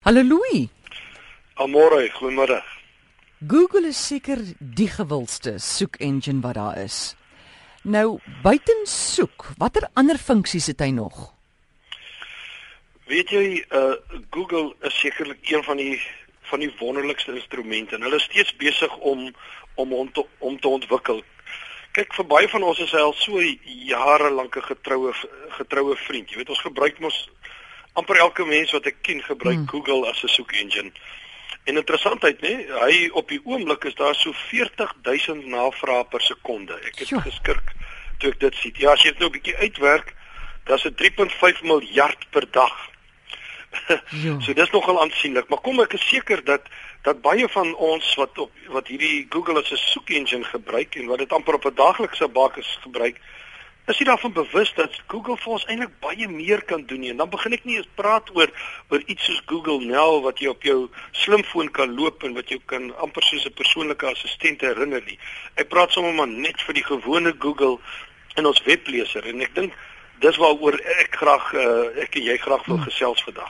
Hallo Louis. Amore, goeiemiddag. Google is seker die gewildste soek-engine wat daar is. Nou, buiten soek, watter ander funksies het hy nog? Weet jy, Google is sekerlik een van die wonderlikste instrumente en hulle is steeds besig om te ontwikkel. Kyk, vir baie van ons is hy al so jarelank 'n getroue vriend. Jy weet, ons gebruik mos amper elke mens wat ek ken gebruik Google as 'n soek-engine. En interessantheid, nee, hy op die oomblik is daar so 40,000 navrae per sekonde. Ek het geskrik toe ek dit sien. Ja, as jy dit nou 'n bietjie uitwerk, dan is dit 3.5 miljard per dag. So dis nogal aansienlik, maar kom ek is seker dat baie van ons wat hierdie Google as 'n soek-engine gebruik en wat dit amper op 'n daaglikse basis gebruik, is jy daarvan bewus dat Google vir ons eintlik baie meer kan doen nie. En dan begin ek nie eens praat oor iets soos Google Now wat jy op jou slimfoon kan loop en wat jy kan amper soos 'n persoonlike assistent herinner nie. Ek praat sommer maar net vir die gewone Google in ons webleser en ek dink dis waaroor ek en jy graag wil gesels vandag.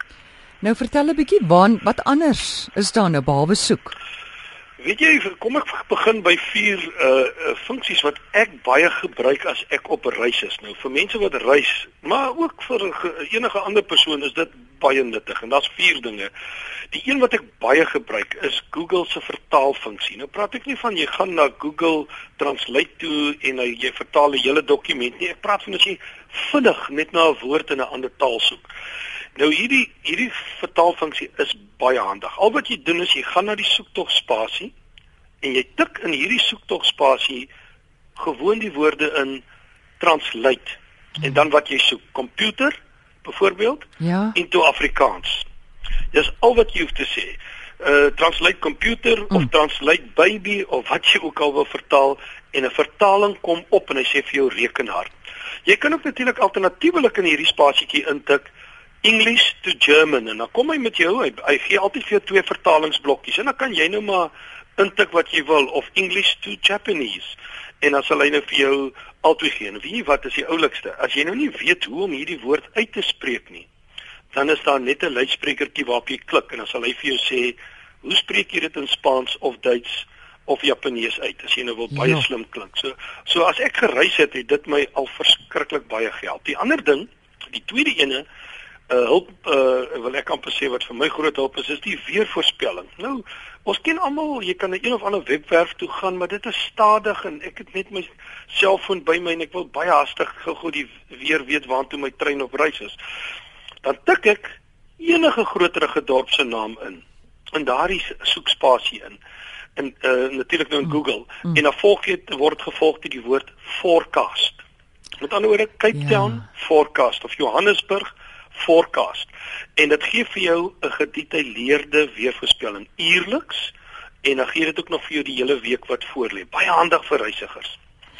Nou vertel 'n bietjie wat anders is daar nou behalwe soek? Weet jy, kom ek begin by 4 funksies wat ek baie gebruik as ek op reis is. Nou vir mense wat reis, maar ook vir enige ander persoon is dit baie nuttig en daar's 4 dinge. Die een wat ek baie gebruik is Google se vertaalfunksie. Nou praat ek nie van jy gaan na Google Translate toe en jy vertaal 'n hele dokument nie. Ek praat van as jy vinnig net na 'n woord in 'n ander taal soek. Nou hierdie vertaalfunksie is baie handig. Al wat jy doen is jy gaan na die soektog-spasie en jy tik in hierdie soektog-spasie gewoon die woorde in translate. En dan wat jy soek, computer byvoorbeeld, into Afrikaans. Dis al wat jy hoef te sê. Translate computer of translate baby of wat jy ook al wil vertaal en 'n vertaling kom op en hy sê vir jou rekenaar. Jy kan ook natuurlik alternatiewelik in hierdie spasietjie intik English to German en dan kom hy met jou, hy gee altyd vir jou 2 vertalingsblokkies en dan kan jy nou maar intik wat jy wil of English to Japanese en dan sal hy nou vir jou albei gee. En weet jy wat is die oulikste? As jy nou nie weet hoe om hierdie woord uit te spreek nie, dan is daar net 'n luidsprekertjie waarop jy klik en dan sal hy vir jou sê, hoe spreek jy dit in Spaans of Duits of Japanees uit, as jy nou wil baie slim klink. So as ek gereis het dit my al verskriklik baie gehelp. Die ander ding, die tweede ene, hulp, wil ek amper sê wat vir my groot hulp is die weervoorspelling. Nou, ons ken almal, jy kan na een of ander webwerf toe gaan, maar dit is stadig en ek het net my selfoon by my en ek wil baie hastig gou die weer weet waartoe my trein op reis is. Dan tik ek enige groterige dorp se naam in daardie soekspasie in. En natuurlik nou in Google en dan word gevolg deur die woord forecast. Met ander woorde Cape Town forecast of Johannesburg forecast. En dit gee vir jou 'n gedetailleerde weervoorspelling uurliks en dan gee dit ook nog vir jou die hele week wat voorlê. Baie handig vir reisigers.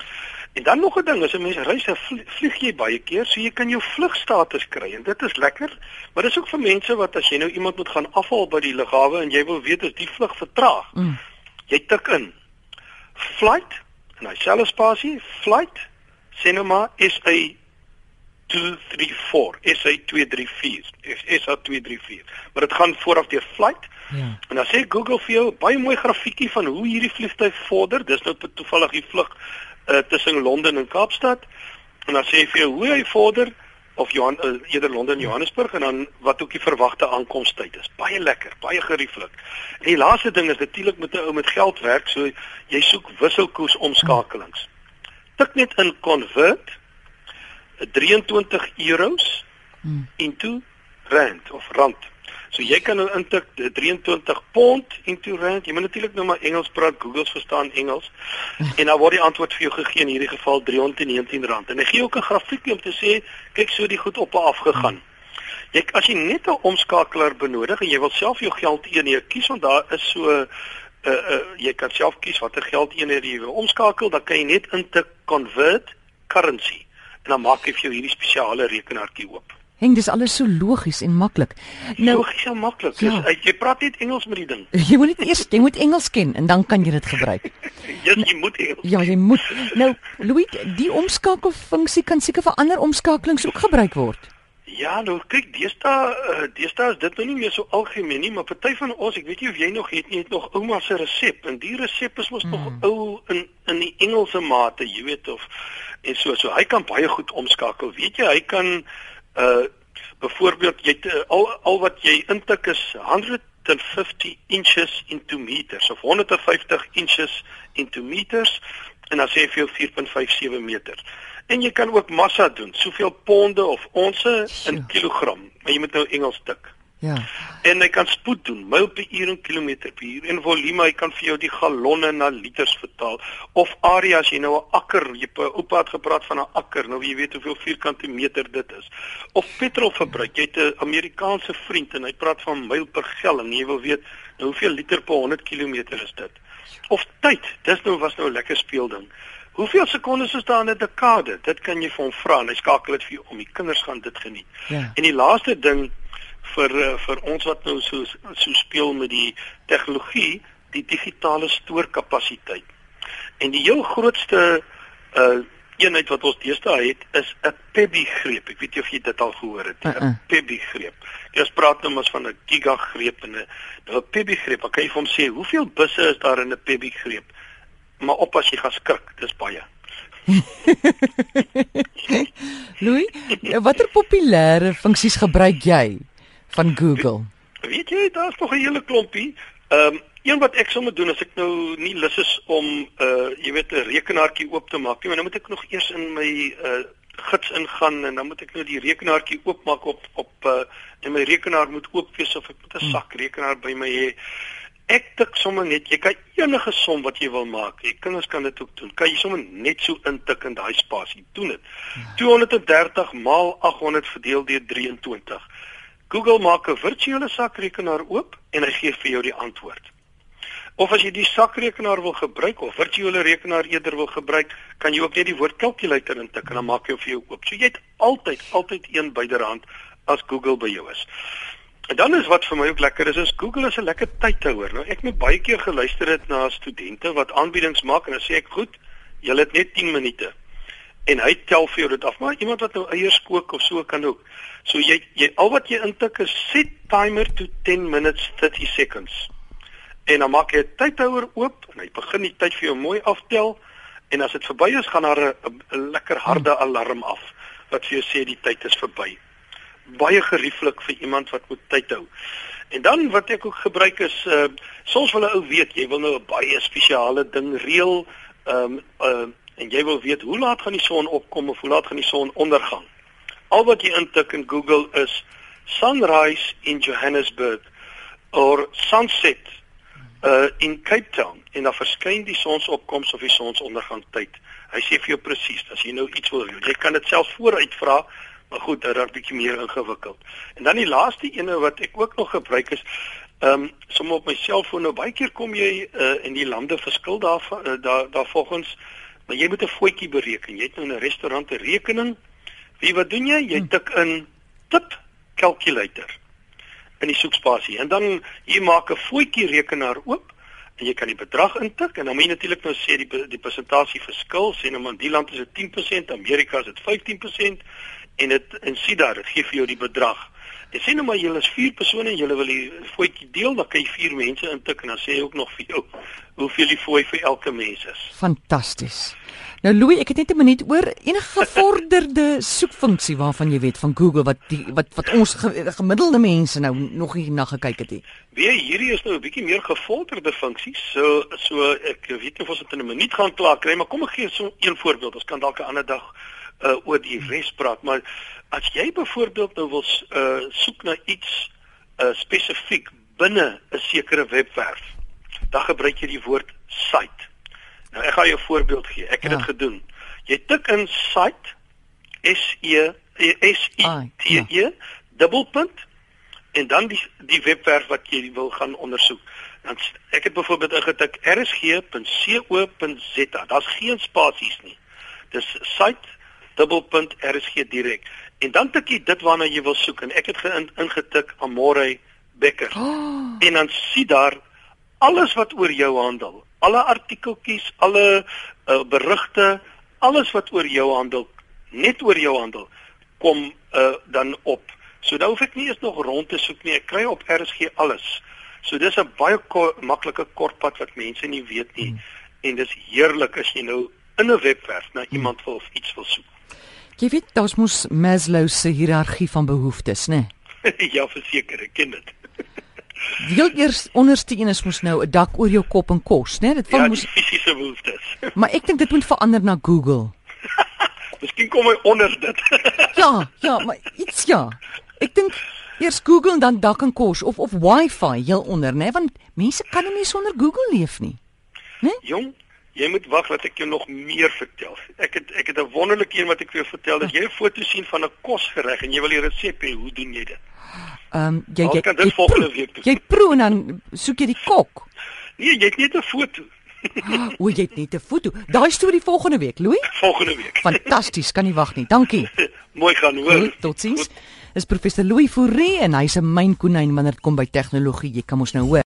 En dan nog 'n ding, as 'n mens reis, vlieg jy baie keer, so jy kan jou vlugstatus kry en dit is lekker, maar dis ook vir mense wat as jy nou iemand moet gaan afhaal by die lughawe en jy wil weet as die vlug vertraag. Jy tik in flight en hy selfe spasie flight sê nou maar SA 234 SA234 maar dit gaan vooraf deur flight en dan sê Google vir jou baie mooi grafiekie van hoe hierdie vliegtuig vorder. Dis nou toevallig die vlug tussen Londen en Kaapstad en dan sê hy vir jou hoe hy vorder of eerder Londen en Johannesburg en dan wat ook die verwagte aankomstyd is. Baie lekker, baie gerieflik. En die laaste ding is natuurlik met 'n ou met geld werk, so jy soek wisselkoers omskakelings. Tik net in convert 23 euros into rand of rand. So jy kan nou intik 23 pond into rand. Jy moet natuurlik nou maar Engels praat, Google verstaan Engels. En dan word die antwoord vir jou gegee in hierdie geval R319. En hy gee ook 'n grafiekie om te sê, kyk so die goed op en af gegaan. As jy net 'n omskakelaar benodig en jy wil self jou geldeenheid kies want daar is so jy kan self kies watter geldeenheid jy wil omskakel, dan kan jy net intik convert currency en dan maak hy vir jou hierdie spesiale rekenaartjie oop. Henk, dis alles so logies en maklik. Nou, logies en maklik. Jy praat net Engels met die ding. Jy moet Engels ken en dan kan jy dit gebruik. Jy moet Engels. Ja, jy moet. Nou, Louis, die omskakelfunksie kan seker vir ander omskakelings ook gebruik word. Ja, nou kyk, deesdae is dit nou nie meer so algemeen nie, maar party van ons, ek weet nie of jy nog het nog ouma se resep en die resep is mos nog ou in die Engelse mate, jy weet of en so hy kan baie goed omskakel. Weet jy, hy kan byvoorbeeld al wat jy intik is 150 inches into meters of 150 inches into meters en dan sê jy vir jou 4.57 meter. En jy kan ook massa doen, soveel ponde of onse in kilogram, maar jy moet nou Engels tik. Ja. En hy kan spoed doen, myl per uur en kilometer per uur. En volume, hy kan vir jou die gallonne na liters vertaal. Of area, as jy nou 'n akker, oupa het gepraat van 'n akker, nou jy weet hoeveel vierkante meter dit is. Of petrolverbruik, jy het 'n Amerikaanse vriend en hy praat van myl per gallon, en jy wil weet, nou hoeveel liter per 100 kilometer is dit? Of tyd, was nou 'n lekker speelding. Hoeveel sekondes is daar in 'n dekade? Dit kan jy vir hom vra en hy skakel dit vir jou om. Die kinders gaan dit geniet. Ja. En die laaste ding vir ons wat nou so speel met die tegnologie, die digitale stoorkapasiteit. En die heel grootste eenheid wat ons deesdae het is 'n PeBi-greep. Ek weet nie of jy dit al gehoor het nie. 'n PeBi-greep. Jy praat nou maar van 'n gigagreep en 'n PeBi-greep. Dan kan jy vir hom sê, hoeveel busse is daar in 'n PeBi-greep? Maar op as jy gaan skrik, dis baie. Louis, watter populêre funksies gebruik jy van Google? Weet jy, daar's nog 'n hele klompie. Een wat ek sommer doen as ek nou nie lus is om jy weet 'n rekenaartjie oop te maak nie, maar nou moet ek nog eers in my gids ingaan en dan moet ek nou die rekenaartjie oopmaak op en my rekenaar moet oop wees of ek moet 'n sak rekenaar by my hê. Ek tik sommer net, jy kan enige som wat jy wil maak. Die kinders kan dit ook doen. Kan jy sommer net so intik in daai spasie. Doen dit. 230 maal 800 verdeel deur 23. Google maak 'n virtuele sakrekenaar oop en hy gee vir jou die antwoord. Of as jy die sakrekenaar wil gebruik of virtuele rekenaar eerder wil gebruik, kan jy ook net die woord calculator intik en dan maak hy vir jou oop. So jy het altyd een byderhand as Google by jou is. En dan is wat vir my ook lekker is Google is 'n lekker tydhouer. Nou ek het baie keer geluister het na studente wat aanbiedings maak en dan sê ek, goed, julle het net 10 minute. En hy tel vir jou dit af, maar iemand wat nou eiers kook of so kan ook. So jy al wat jy intik is set timer to 10 minutes 30 seconds. En dan maak jy 'n tydhouer oop en hy begin die tyd vir jou mooi aftel en as dit verby is, gaan daar 'n lekker harde alarm af wat vir jou sê die tyd is verby. Baie gerieflik vir iemand wat moet tyd hou. En dan wat ek ook gebruik is soms wil 'n ou weet, jy wil nou 'n baie spesiale ding reël en jy wil weet hoe laat gaan die son opkom of hoe laat gaan die son ondergang. Al wat jy intik in Google is sunrise in Johannesburg or sunset in Cape Town en dan verskyn die sonsopkoms of die sonsondergang tyd. Hy sê vir jou presies as jy nou iets wil doen. Jy kan dit self vooruit vra. Maar goed, dit raak bietjie meer ingewikkeld. En dan die laaste ene wat ek ook nog gebruik is, sommer op my selfoon, nou baie keer kom jy in die lande verskil daar volgens, maar jy moet 'n voetjie bereken. Jy het nou in 'n restaurant 'n rekening. Wat doen jy? Jy tik in tip calculator in die soekspasie. En dan jy maak 'n voetjie rekenaar oop en jy kan die bedrag intik en dan moet jy natuurlik nou sê die persentasie verskil, sê nou maar in die land is dit 10%, Amerika is dit 15%. En sien daar, dit gee vir jou die bedrag. En sê nou maar julle is 4 persone en julle wil die voetjie deel, dan kan jy 4 mense intik en dan sê hy ook nog vir jou hoeveel die fooi vir elke mens is. Fantasties. Nou Louis, ek het net 'n minuut oor enige gevorderde soekfunksie waarvan jy weet van Google wat ons gemiddelde mense nou nog nie na gekyk het nie. Hierdie is nou 'n bietjie meer gevorderde funksies. So ek weet nie of ons dit in 'n minuut gaan klaar kry, maar kom ek gee so een voorbeeld. Ons kan dalk 'n ander dag oor die res praat, maar as jy byvoorbeeld nou wil soek na iets spesifiek binne 'n sekere webwerf, dan gebruik jy die woord site. Nou ek gaan jou 'n voorbeeld gee. Ek het dit gedoen. Jy tik in site SITE dubbelpunt en dan die webwerf wat jy wil gaan ondersoek. Dan ek het byvoorbeeld ingetik rsg.co.za. Daar's geen spasies nie. Dis site dubbelpunt RSG direk. En dan tik jy dit waarna jy wil soek en ek het ingetik Amore Becker. En dan sien daar alles wat oor jou handel. Alle artikeltjies, alle berigte, alles wat oor jou handel, net oor jou handel, kom dan op. So daar hoef ek nie eens nog rond te soek nie. Ek kry op RSG alles. So dis 'n baie maklike kortpad wat mense nie weet nie. En dis heerlik as jy nou in 'n webwerf na iemand wil of iets wil soek. Jy weet, daar's mos Maslow se hiërargie van behoeftes, né? Ja, verseker, ek ken dit. Die heel eers onderste een is mos nou 'n dak oor jou kop en kos, né? Dit val Ja, mos, die fisiese behoeftes. maar ek dink dit moet verander na Google. Miskien kom hy onder dit. Ja, maar iets ja. Ek dink eers Google en dan dak en kos of Wi-Fi heel onder, né? Want mense kan nie meer sonder Google leef nie. Jong, jy moet wag dat ek jou nog meer vertel. Ek het 'n wonderlike een wat ek vir jou vertel. As jy 'n foto sien van 'n kosgereg en jy wil die resep hê, hoe doen jy dit? Jy kan dit volgende week doen. Jy proe en dan soek jy die kok. Nee, jy het net 'n foto. O, jy het net 'n foto. Daai storie volgende week, Louis. Volgende week. Fantasties, kan nie wag nie. Dankie. Mooi gaan hoor. Totsiens. Dis professor Louis Fourie en hy's 'n mynkonyn wanneer dit kom by tegnologie. Jy kan mos nou hoor.